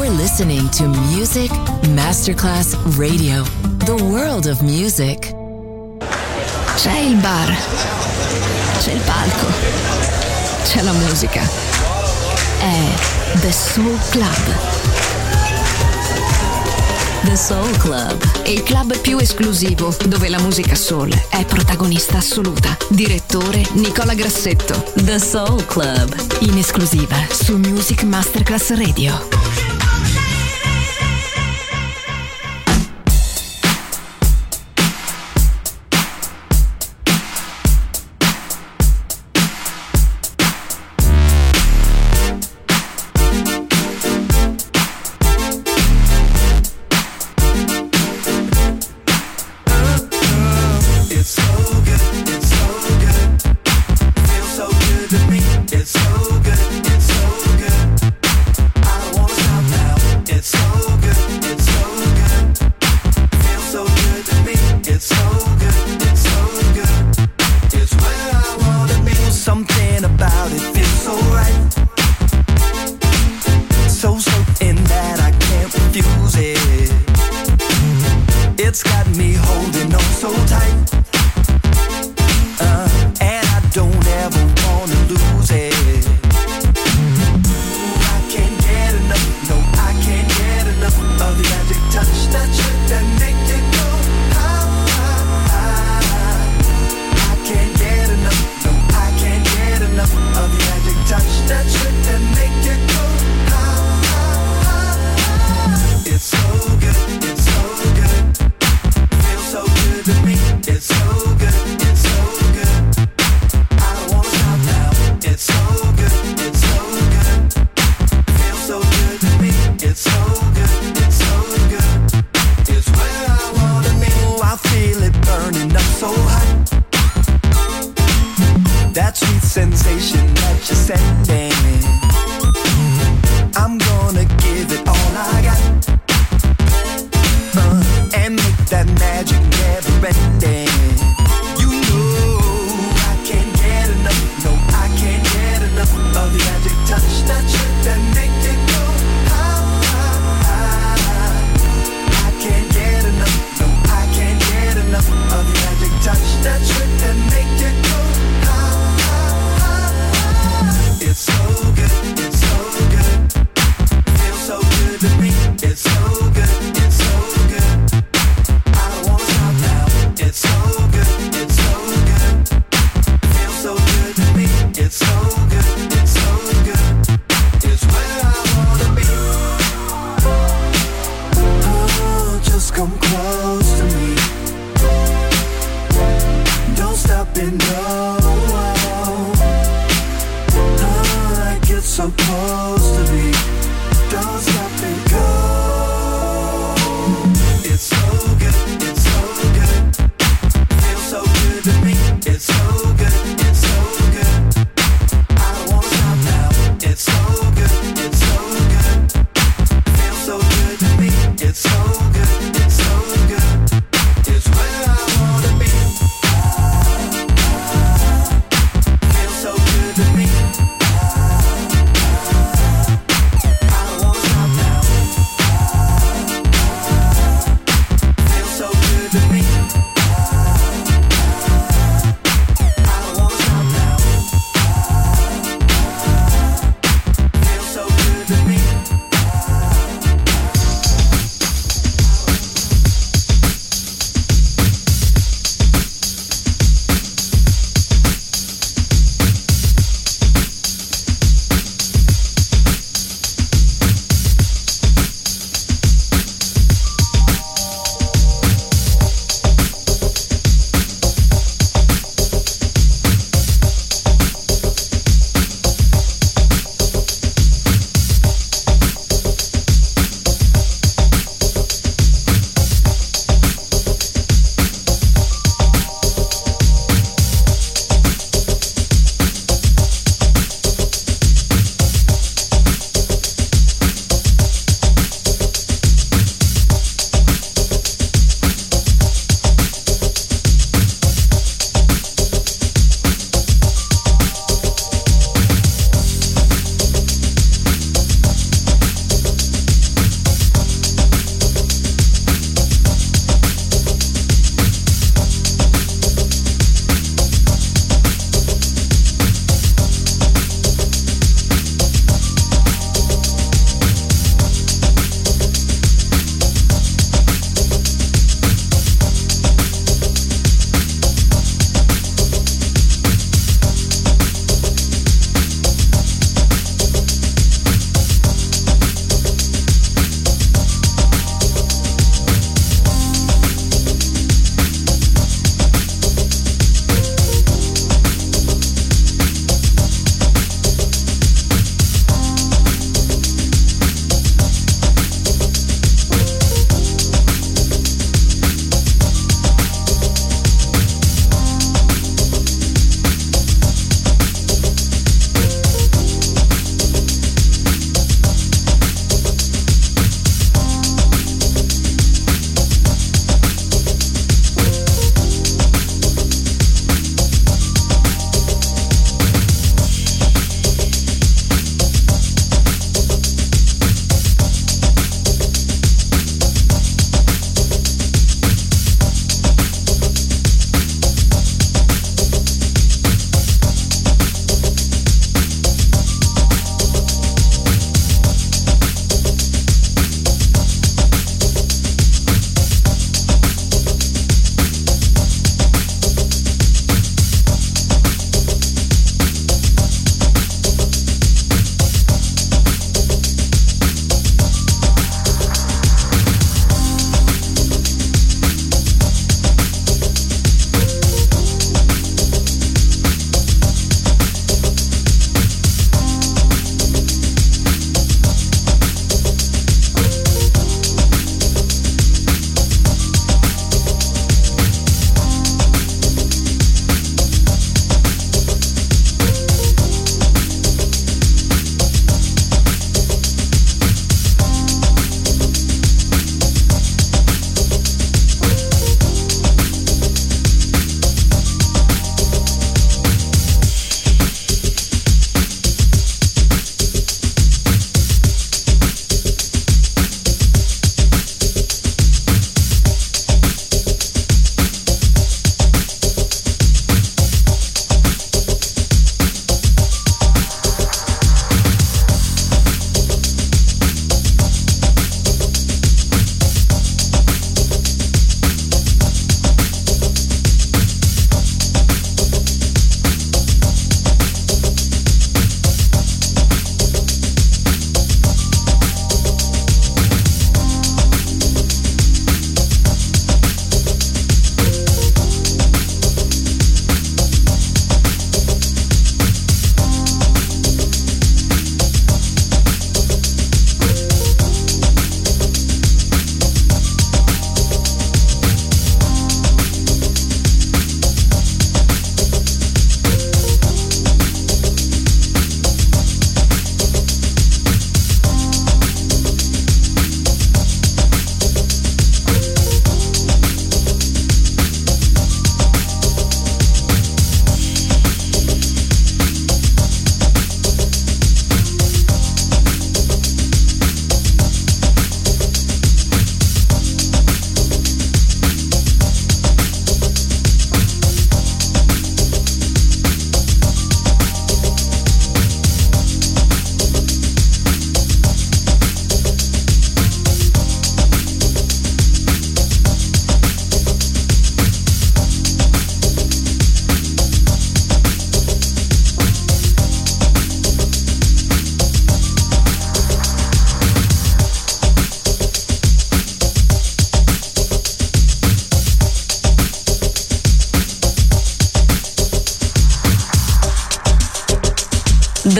You're listening to Music Masterclass Radio, the world of music. C'è il bar, c'è il palco, c'è la musica. È The Soul Club. The Soul Club, Il club più esclusivo dove la musica soul è protagonista assoluta. Direttore Nicola Grassetto. The Soul Club, In esclusiva su Music Masterclass Radio.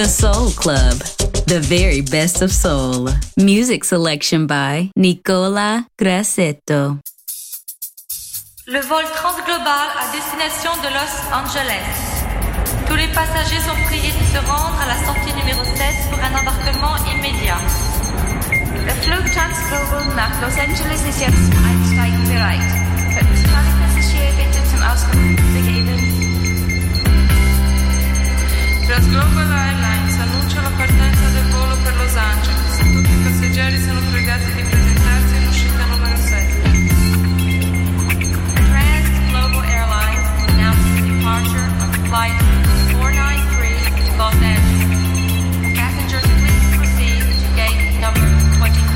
Soul Club, the very best of soul. Music selection by Nicola Grassetto. Le vol transglobal à destination de Los Angeles. Tous les passagers sont priés de se rendre à la sortie numéro 7 pour un embarquement immédiat. Der Flug Transglobal nach Los Angeles ist jetzt zum Einsteigen bereit. Könnten Sie alle Passagiere bitte zum Ausgang begeben? Transglobal Airlines annuncia la partenza del volo per Los Angeles. Tutti i passeggeri sono pregati di presentarsi in uscita numero 7. Transglobal Airlines announces the departure of flight 493 to Los Angeles. Passengers, please proceed to gate number 24.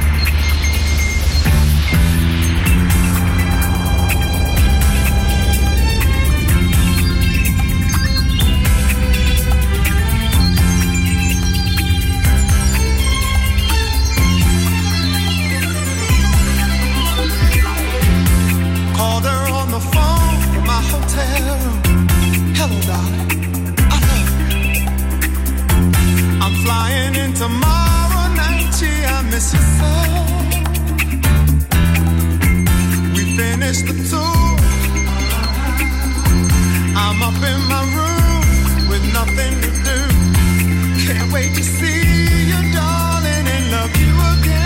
Called her on the phone from my hotel room. Hello, darling, I love you. I'm flying in tomorrow night, gee, I miss you so. We finished the tour. I'm up in my room with nothing to do. Can't wait to see you, darling, and love you again.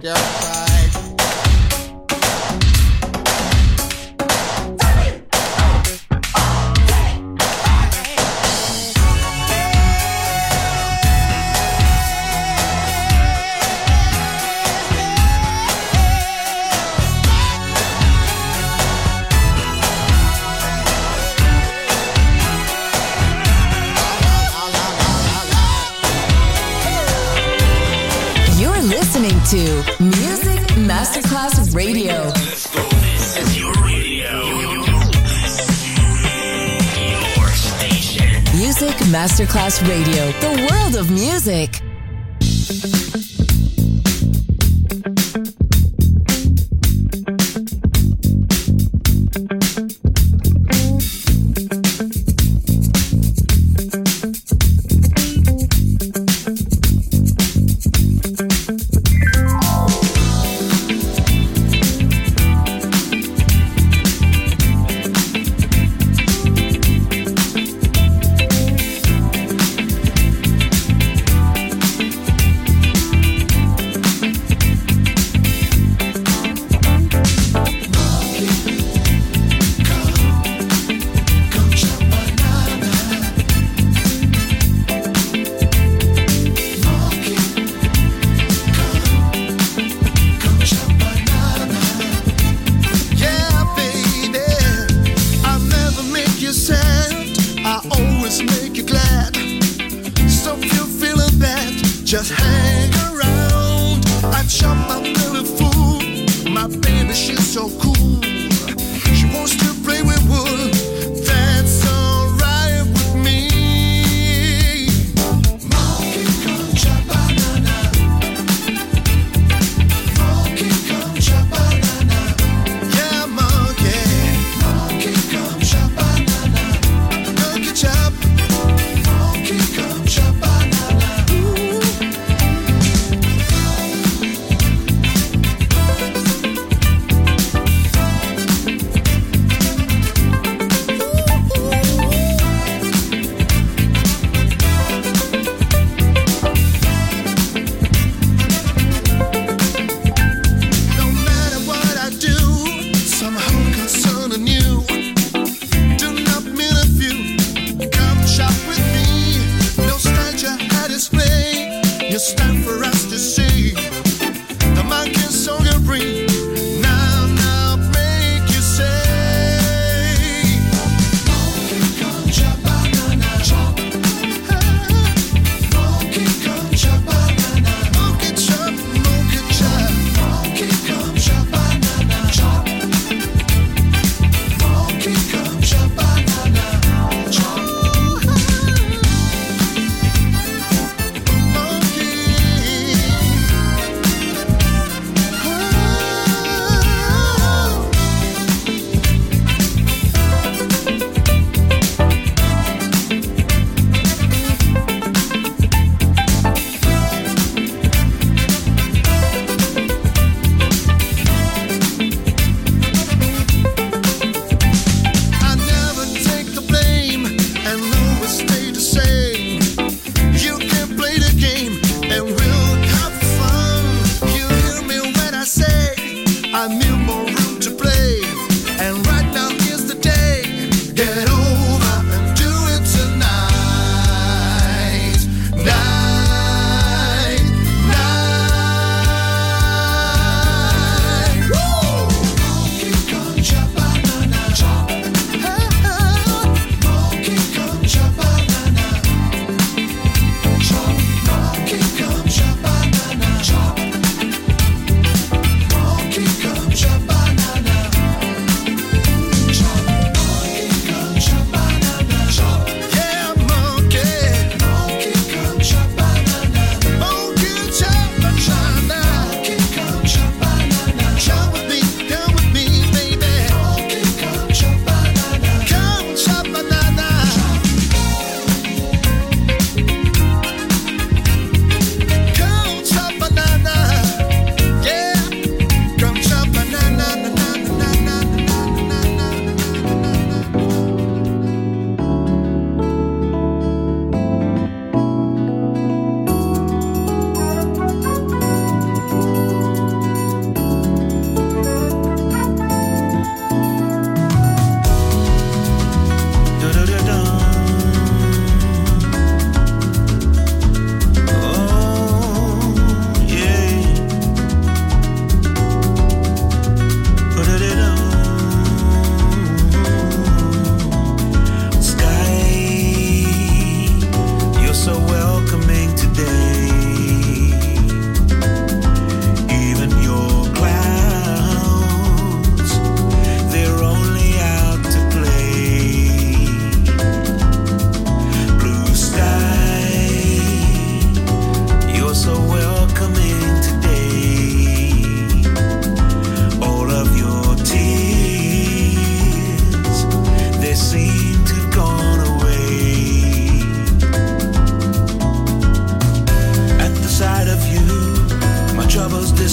monkey outside. To Music Masterclass Radio. Let's go. This is your radio. Your station. Music Masterclass Radio. The world of music. Just hang around. I chop my belly full. My baby, she's so cool. She wants to play with wood. That's alright with me. Monkey, come chop banana. Monkey, come chop banana. Yeah, monkey. Monkey, come chop banana. Monkey chop. Monkey, come chop banana.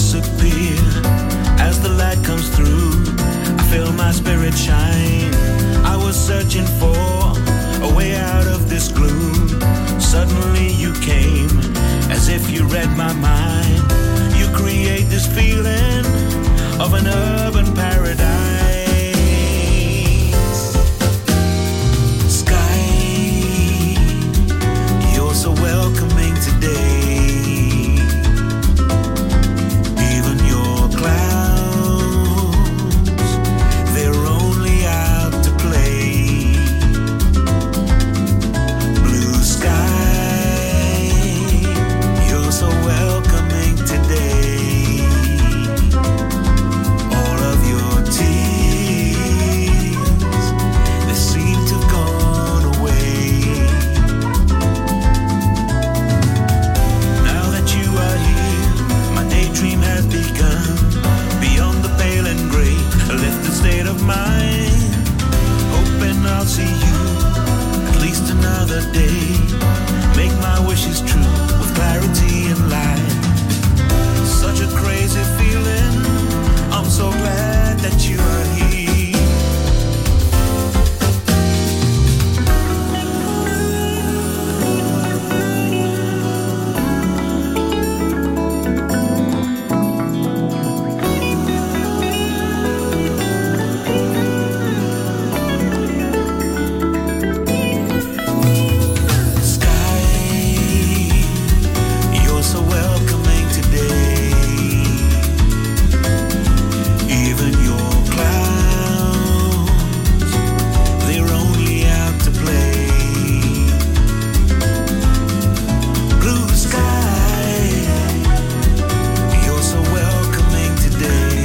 disappear as the light comes through. I feel my spirit shine. I was searching for a way out of this gloom. Suddenly you came, as if you read my mind. You create this feeling of an urban paradise. Sky, you're so welcoming today. Even your clouds, they're only out to play. Blue sky, you're so welcoming today. All of your tears, they seem to have gone away. Now that you are here, my daydream has begun. Beyond the pale and gray, a lifted state of mind. Hoping I'll see you at least another day. Make my wishes true with clarity and light. Such a crazy feeling, I'm so glad that you are here. Sky, you're so welcoming today. Even your clouds, they're only out to play. Blue sky, you're so welcoming today.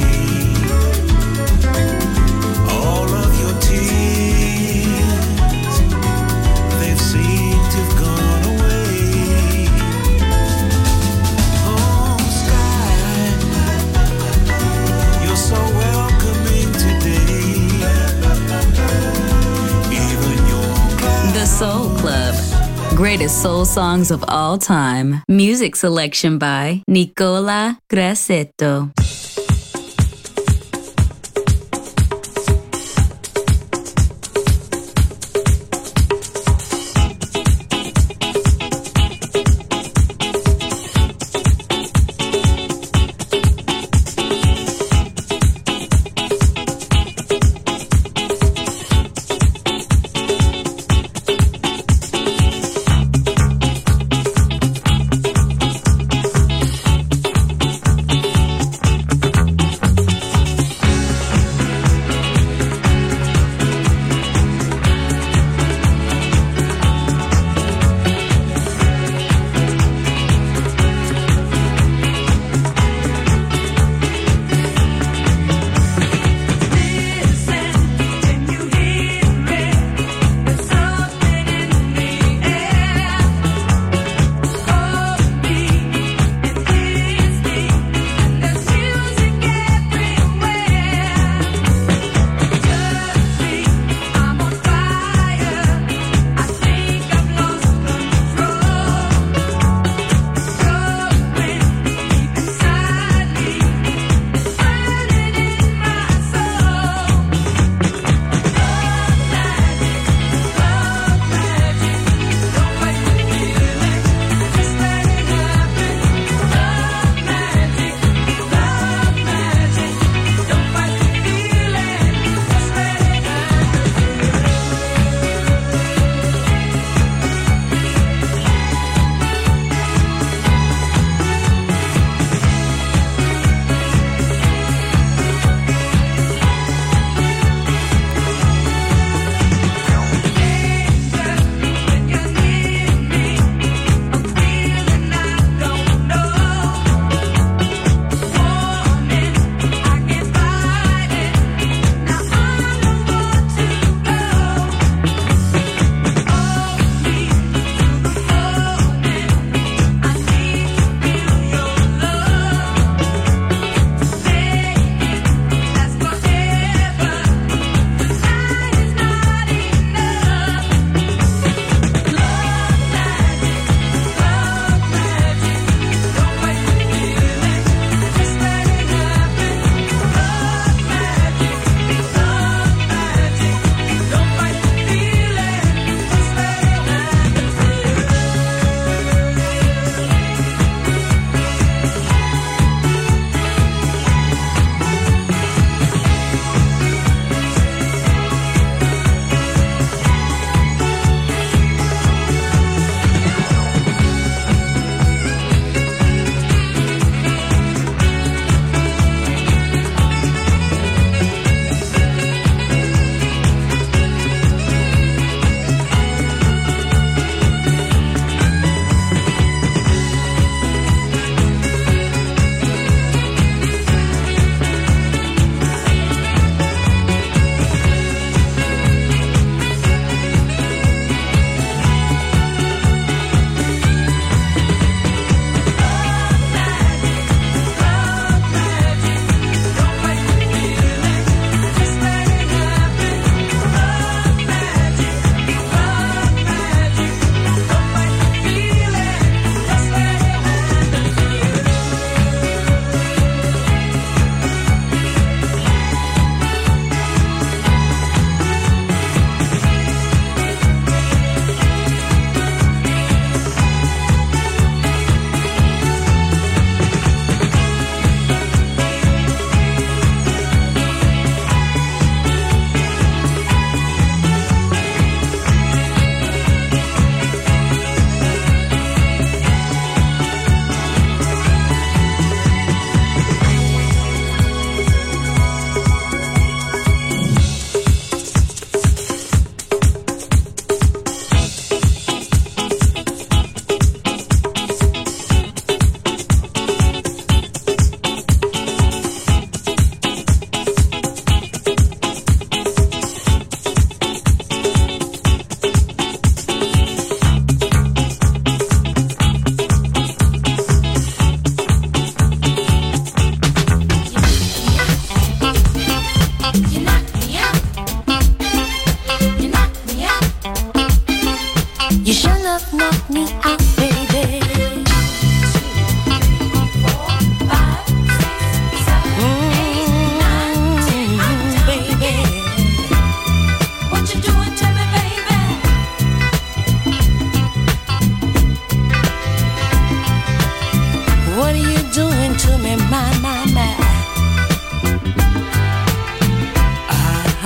All of your tears, they've seemed to have gone away. Oh, sky, you're so welcoming today. Even your clouds. The Soul Club. Greatest soul songs of all time. Music selection by Nicola Grassetto.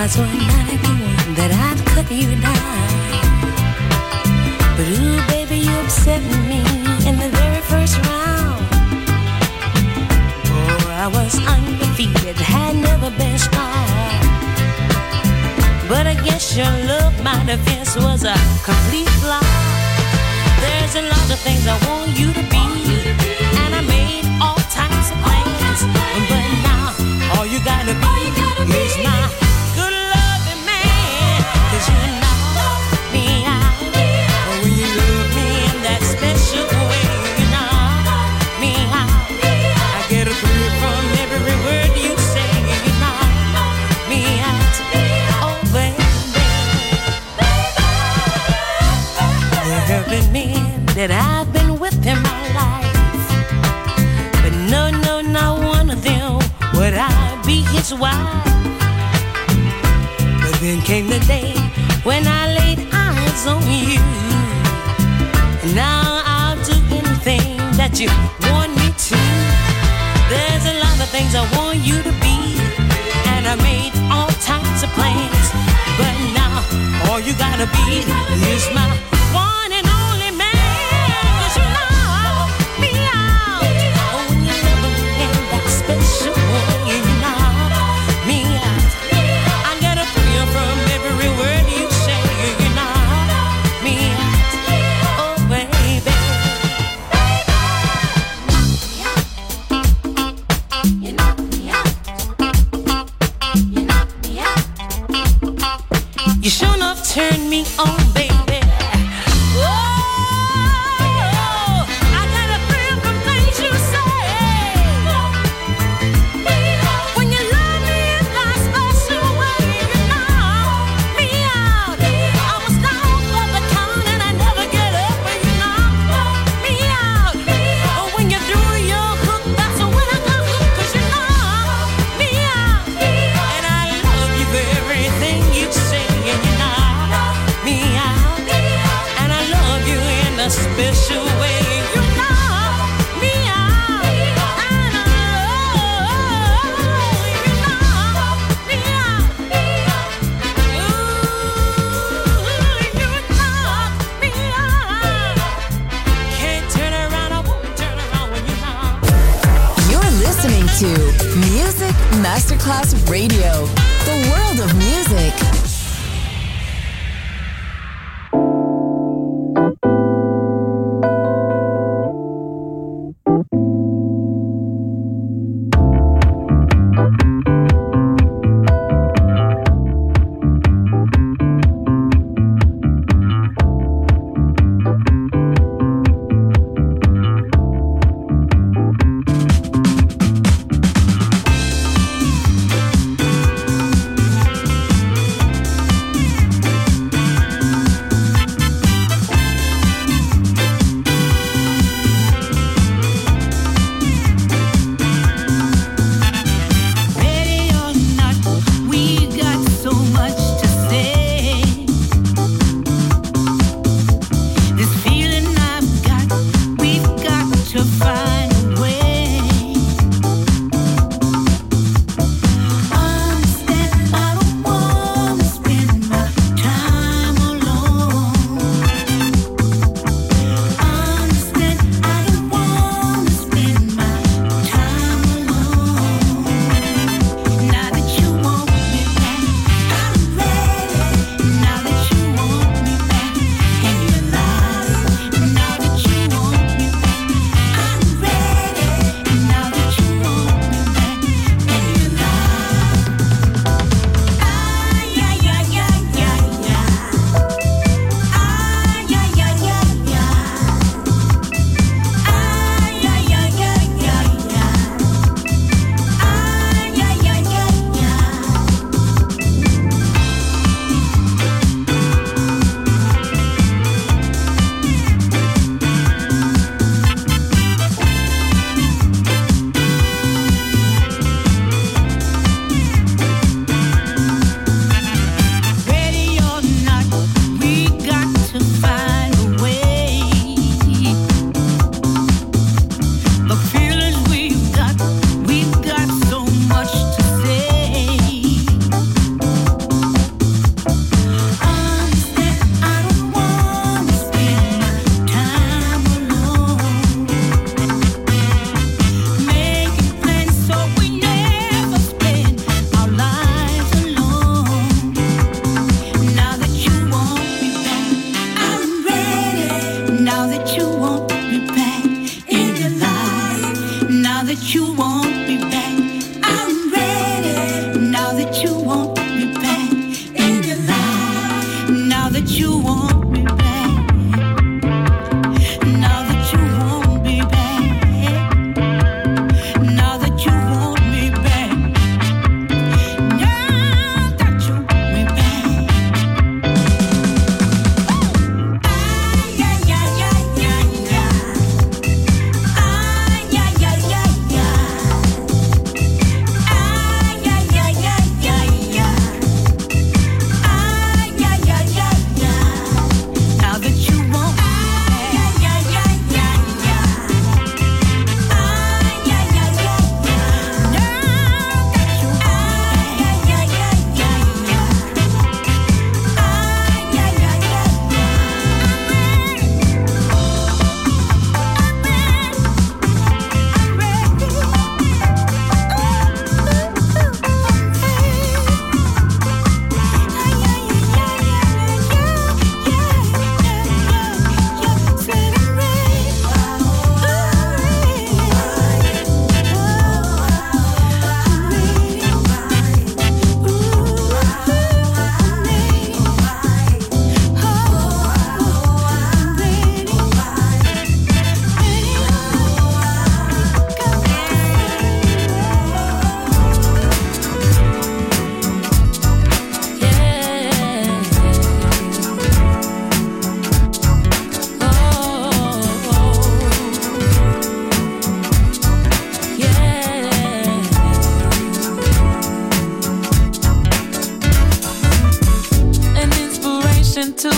odds were 9-1 that I'd cut you down. But ooh, baby, you upset me in the very first round. Oh, I was undefeated, had never been strong. But against your love, my defense was a complete flop. There's a lot of things I want you to be, and I made all types of plans. But now, all you gotta be is my good loving man. 'Cause you knock me out when you love me in that special way. You knock me out, I get a thrill from every word you say. You knock me out, oh baby. There have been men that I've been with in my life, but no, not one of them would I be his wife. But then came the day when I laid eyes on you, and now I'll do anything that you want me to. There's a lot of things I want you to be, and I made all types of plans. But now all you gotta be is my one and only man. 'Cause you knock me out when you love me in that special way. You knock me out, I get a thrill from every word you say. You knock me out, oh baby. You knock me out, you knock me out. You sure enough turned me on, baby. Special way, you knock me out, and I love you, knock me out. Ooh, you knock me out. Can't turn around, I won't turn around when you knock. You're listening to Music Masterclass Radio, the world of music.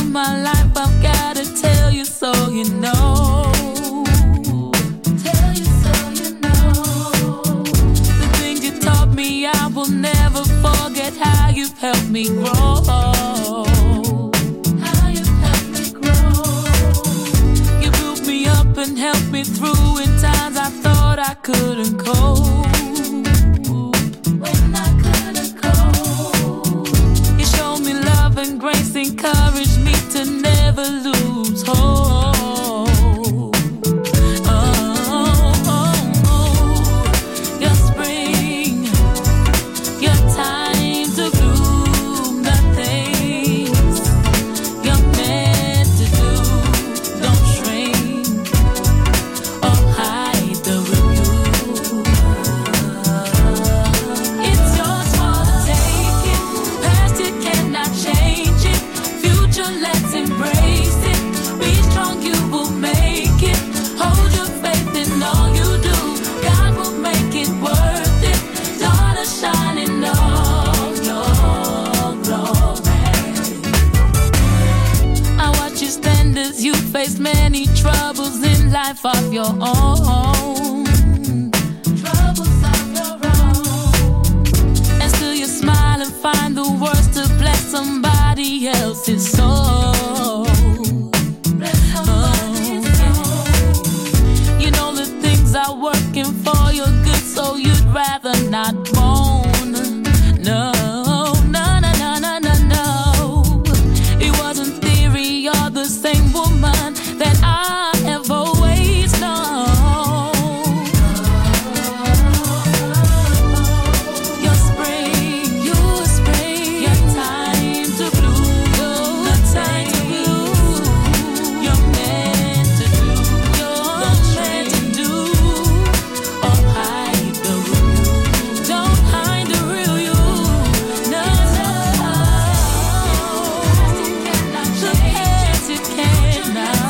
in my life, I've gotta tell you so you know. Tell you so you know. The things you taught me, I will never forget how you've helped me grow. How you've helped me grow. You built me up and helped me through in times I thought I couldn't cope. When I couldn't cope, you showed me love and grace, encouraged me to never lose hope. Your spring, your time to bloom, the things you're meant to do. Don't shrink or hide the review. It's yours for the taking. Past you cannot change it. Future, let's embrace it. Be strong, you will make it. Hold your faith in all you do. God will make it worth it. Daughter, shine in all your glory. I watch you stand as you face many troubles in life of your own. Troubles of your own. And still you smile and find the words to bless somebody else's soul. You know the things are working for your good, so you'd rather not moan. No, no, no, no, no, no, no. It wasn't theory, you're the same woman that I have always known. Your spring, your spring, your time to bloom, the time to bloom. You're meant to do, you're meant to do, or hide the real. Don't hide the real you. No, no. The past you cannot.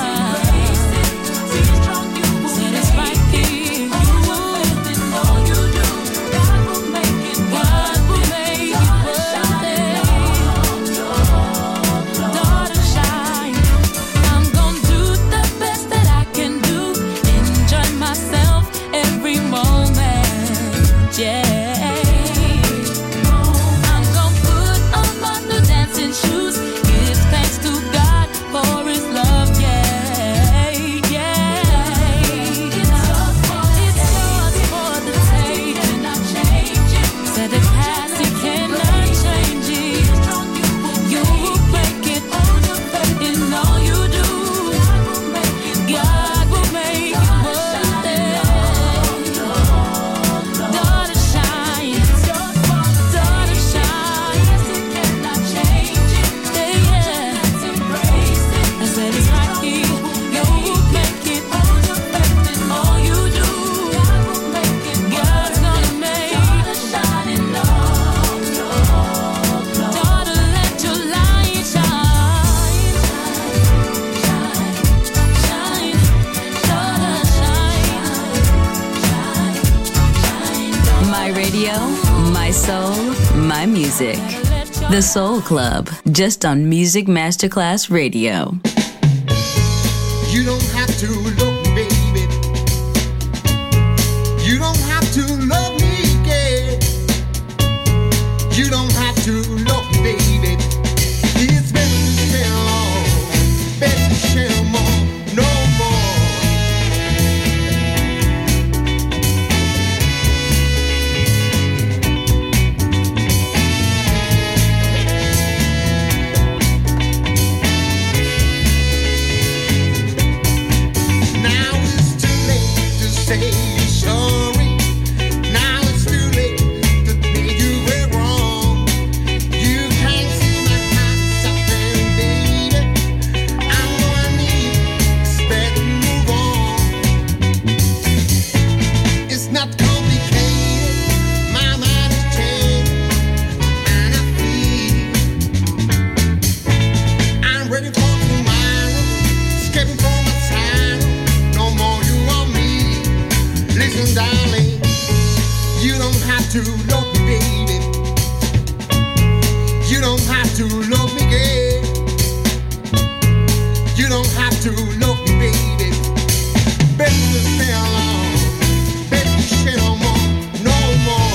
Said it's right here. You will in all you do. God will make it worth it. Daughter, shine. I'm gonna do the best that I can do. Enjoy myself every moment. Yeah. I'm gonna put on my new dancing shoes. Give thanks to God for His love. Yeah, yeah. It's yours for the taking. Said the past you cannot change it. You will make it in all you do. God will make it worth it. Daughter, shine. Daughter, shine. Yeah. I said it's right here. You will make it in all you do. God's gonna make it. Daughter, let your light shine. Shine, daughter, shine. My radio, my soul, my music. The Soul Club, just on Music Masterclass Radio. You don't have to look, baby. You don't have to love me, gay. You don't have to look, baby. It's better to share all, better to share more, no more. Now it's too late to say you're sorry. Now it's too late to admit you were wrong. You can't see my heart suffering, baby. I'm gonna need respect and move on. It's not complicated. My mind has changed, and I feel I'm ready for tomorrow. Escaping from my sorrow. No more you or me. Listen, darling, you don't have to love me, baby. You don't have to love me, girl. You don't have to love me, baby. Better stay alone. Better stay no more, no more.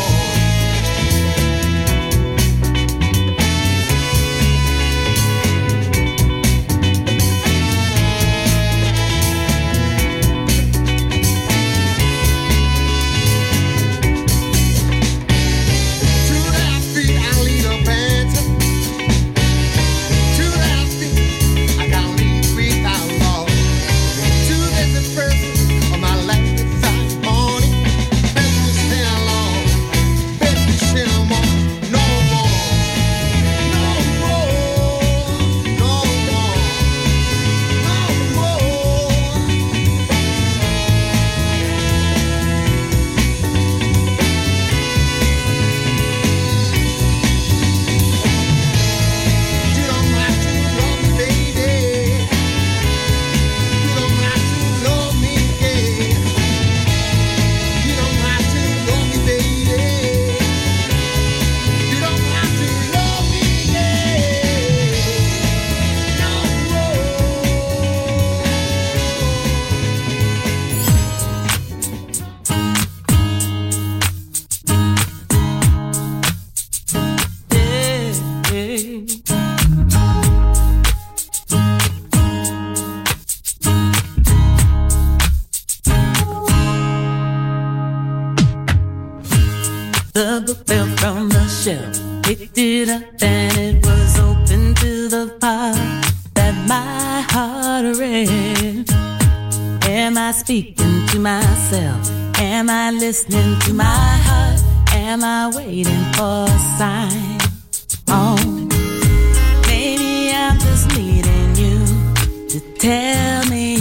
The book fell from the shelf, picked it up and it was open to the part that my heart read. Am I speaking to myself? Am I listening to my heart? Am I waiting for a sign? Oh, maybe I'm just needing you to tell me,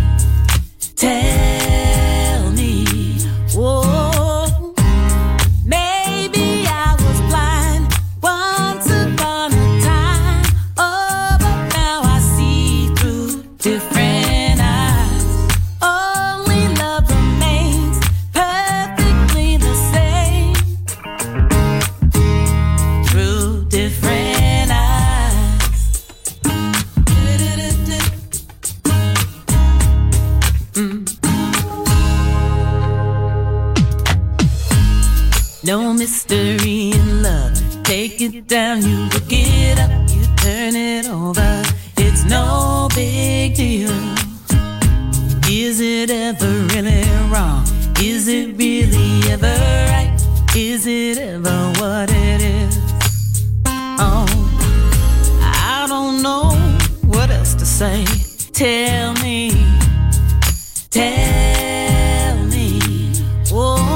oh. No mystery in love. Take it down, you look it up, you turn it over. It's no big deal. Is it ever really wrong? Is it really ever right? Is it ever what it is? Oh, I don't know what else to say. Tell me, oh.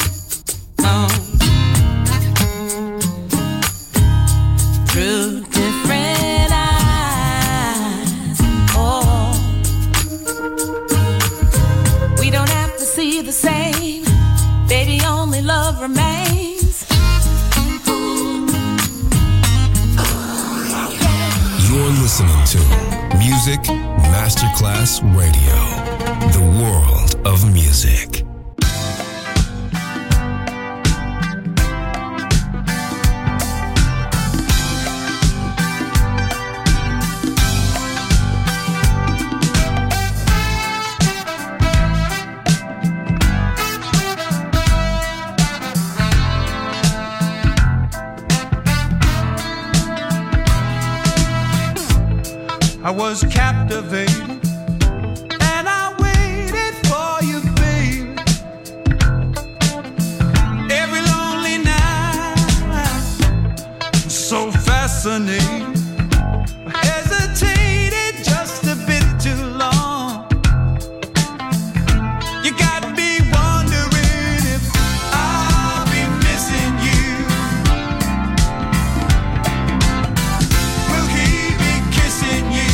Through listening to Music Masterclass Radio, the world of music. I was captivated, and I waited for you, babe. Every lonely night, so fascinating. I hesitated just a bit too long. You got me wondering if I'll be missing you. Will he be kissing you?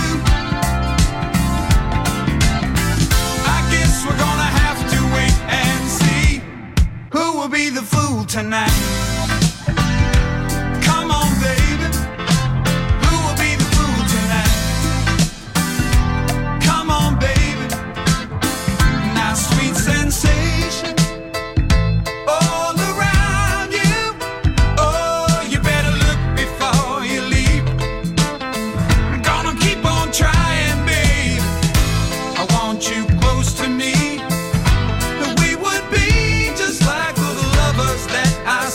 We're gonna have to wait and see who will be the fool tonight. Come on, baby, who will be the fool tonight? Come on, baby, now sweet sensation all around you. Oh, you better look before you leave. I'm gonna keep on trying, baby. I want you close to me. We would be just like the lovers that I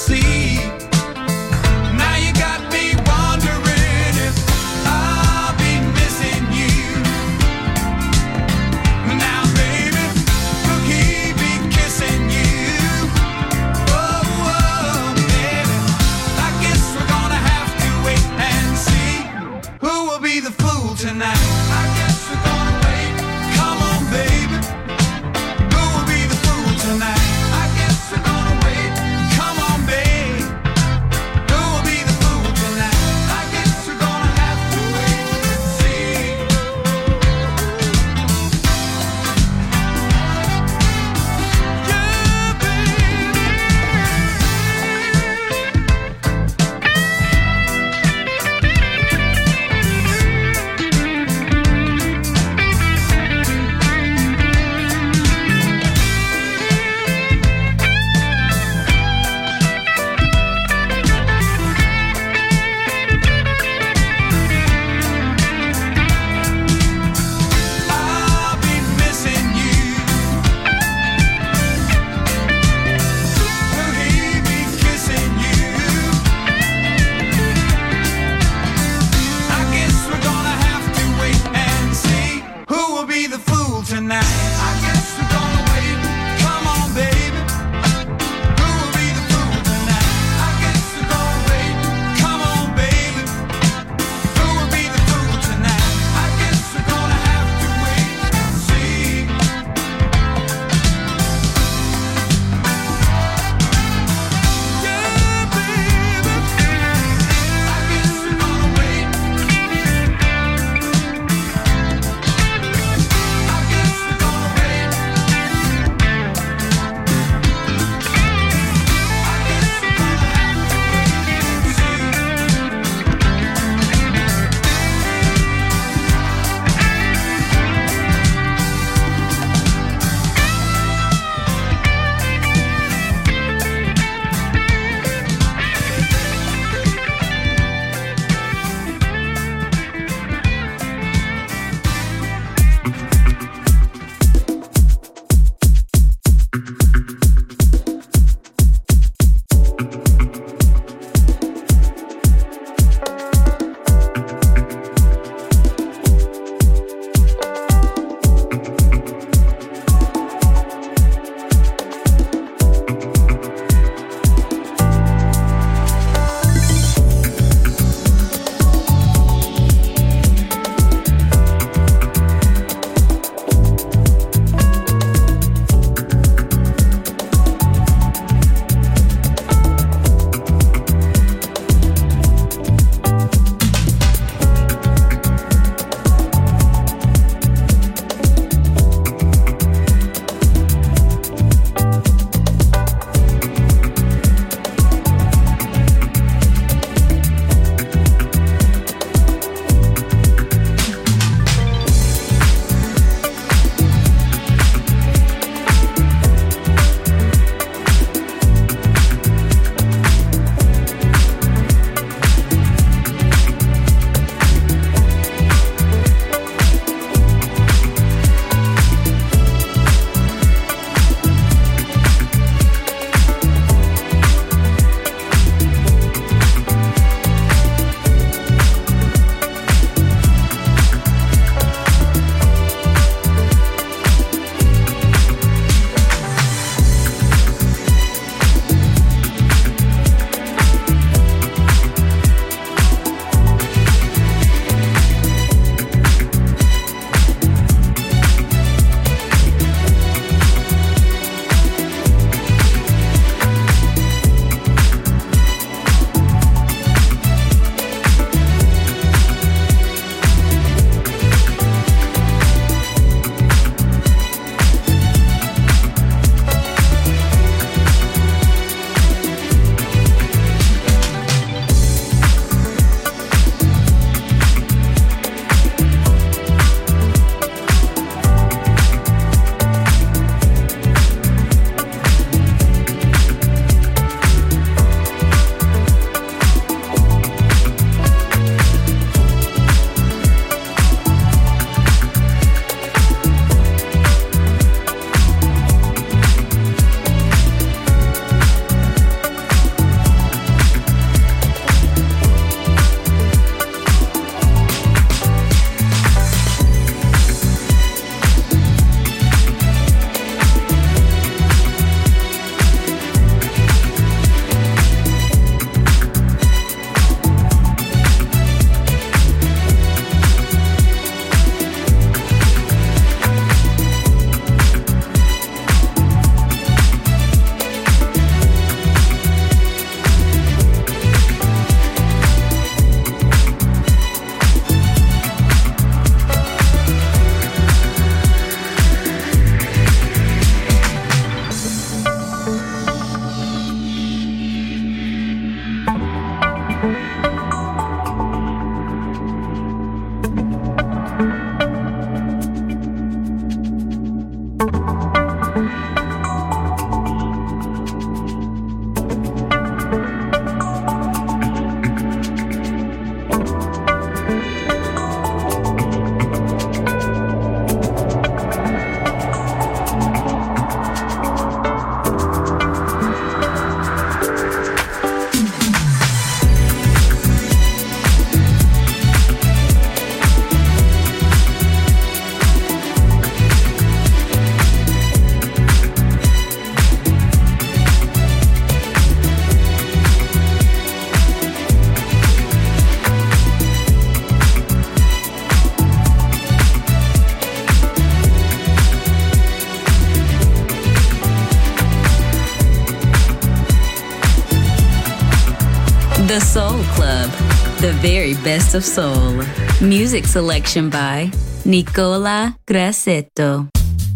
The Soul Club, the very best of soul. Music selection by Nicola Grassetto.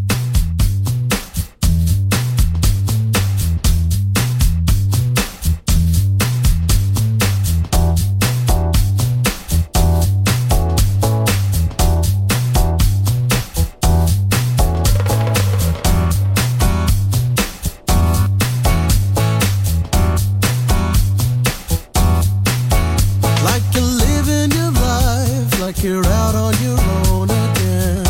You're out on your own again,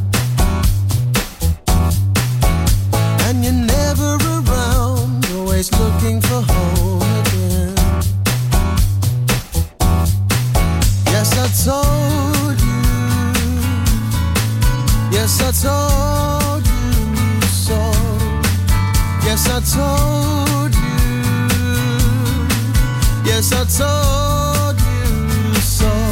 and you're never around, always looking for home again. Yes, I told you, yes, I told you so, yes, I told you, yes, I told you so.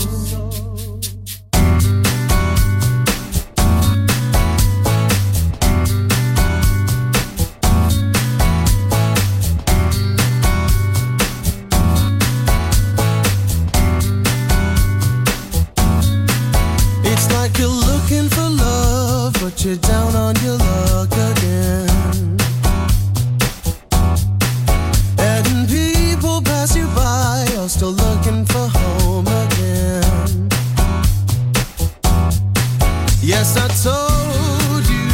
You're down on your luck again, and people pass you by, are still looking for home again. Yes, I told you,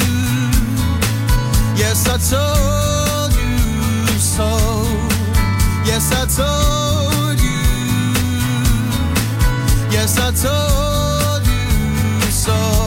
yes, I told you so, yes, I told you, yes, I told you so.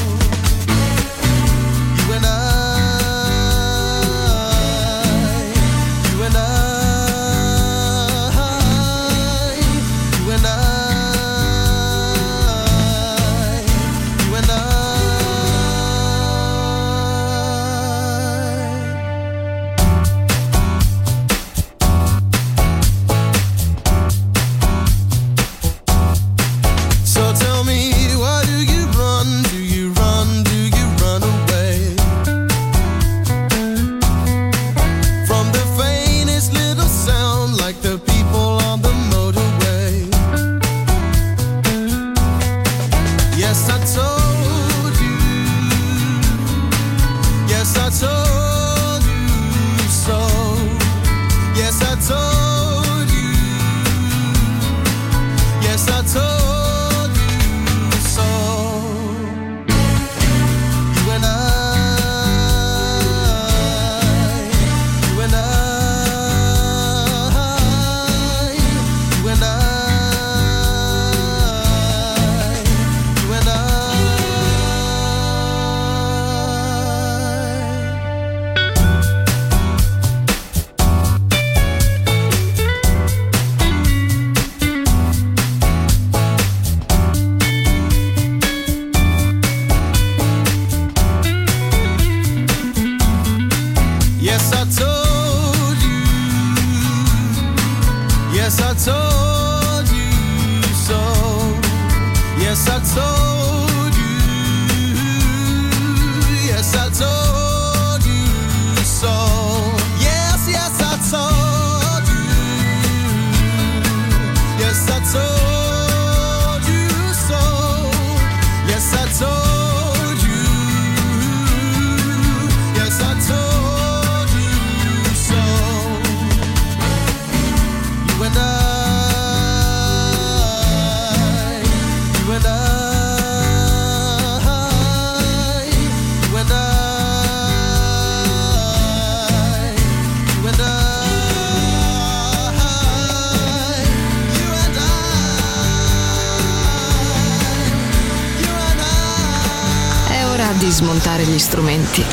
Di smontare gli strumenti,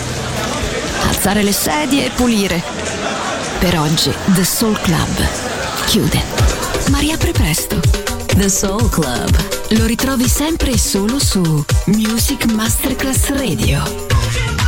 alzare le sedie e pulire. Per oggi The Soul Club chiude, ma riapre presto. The Soul Club lo ritrovi sempre e solo su Music Masterclass Radio.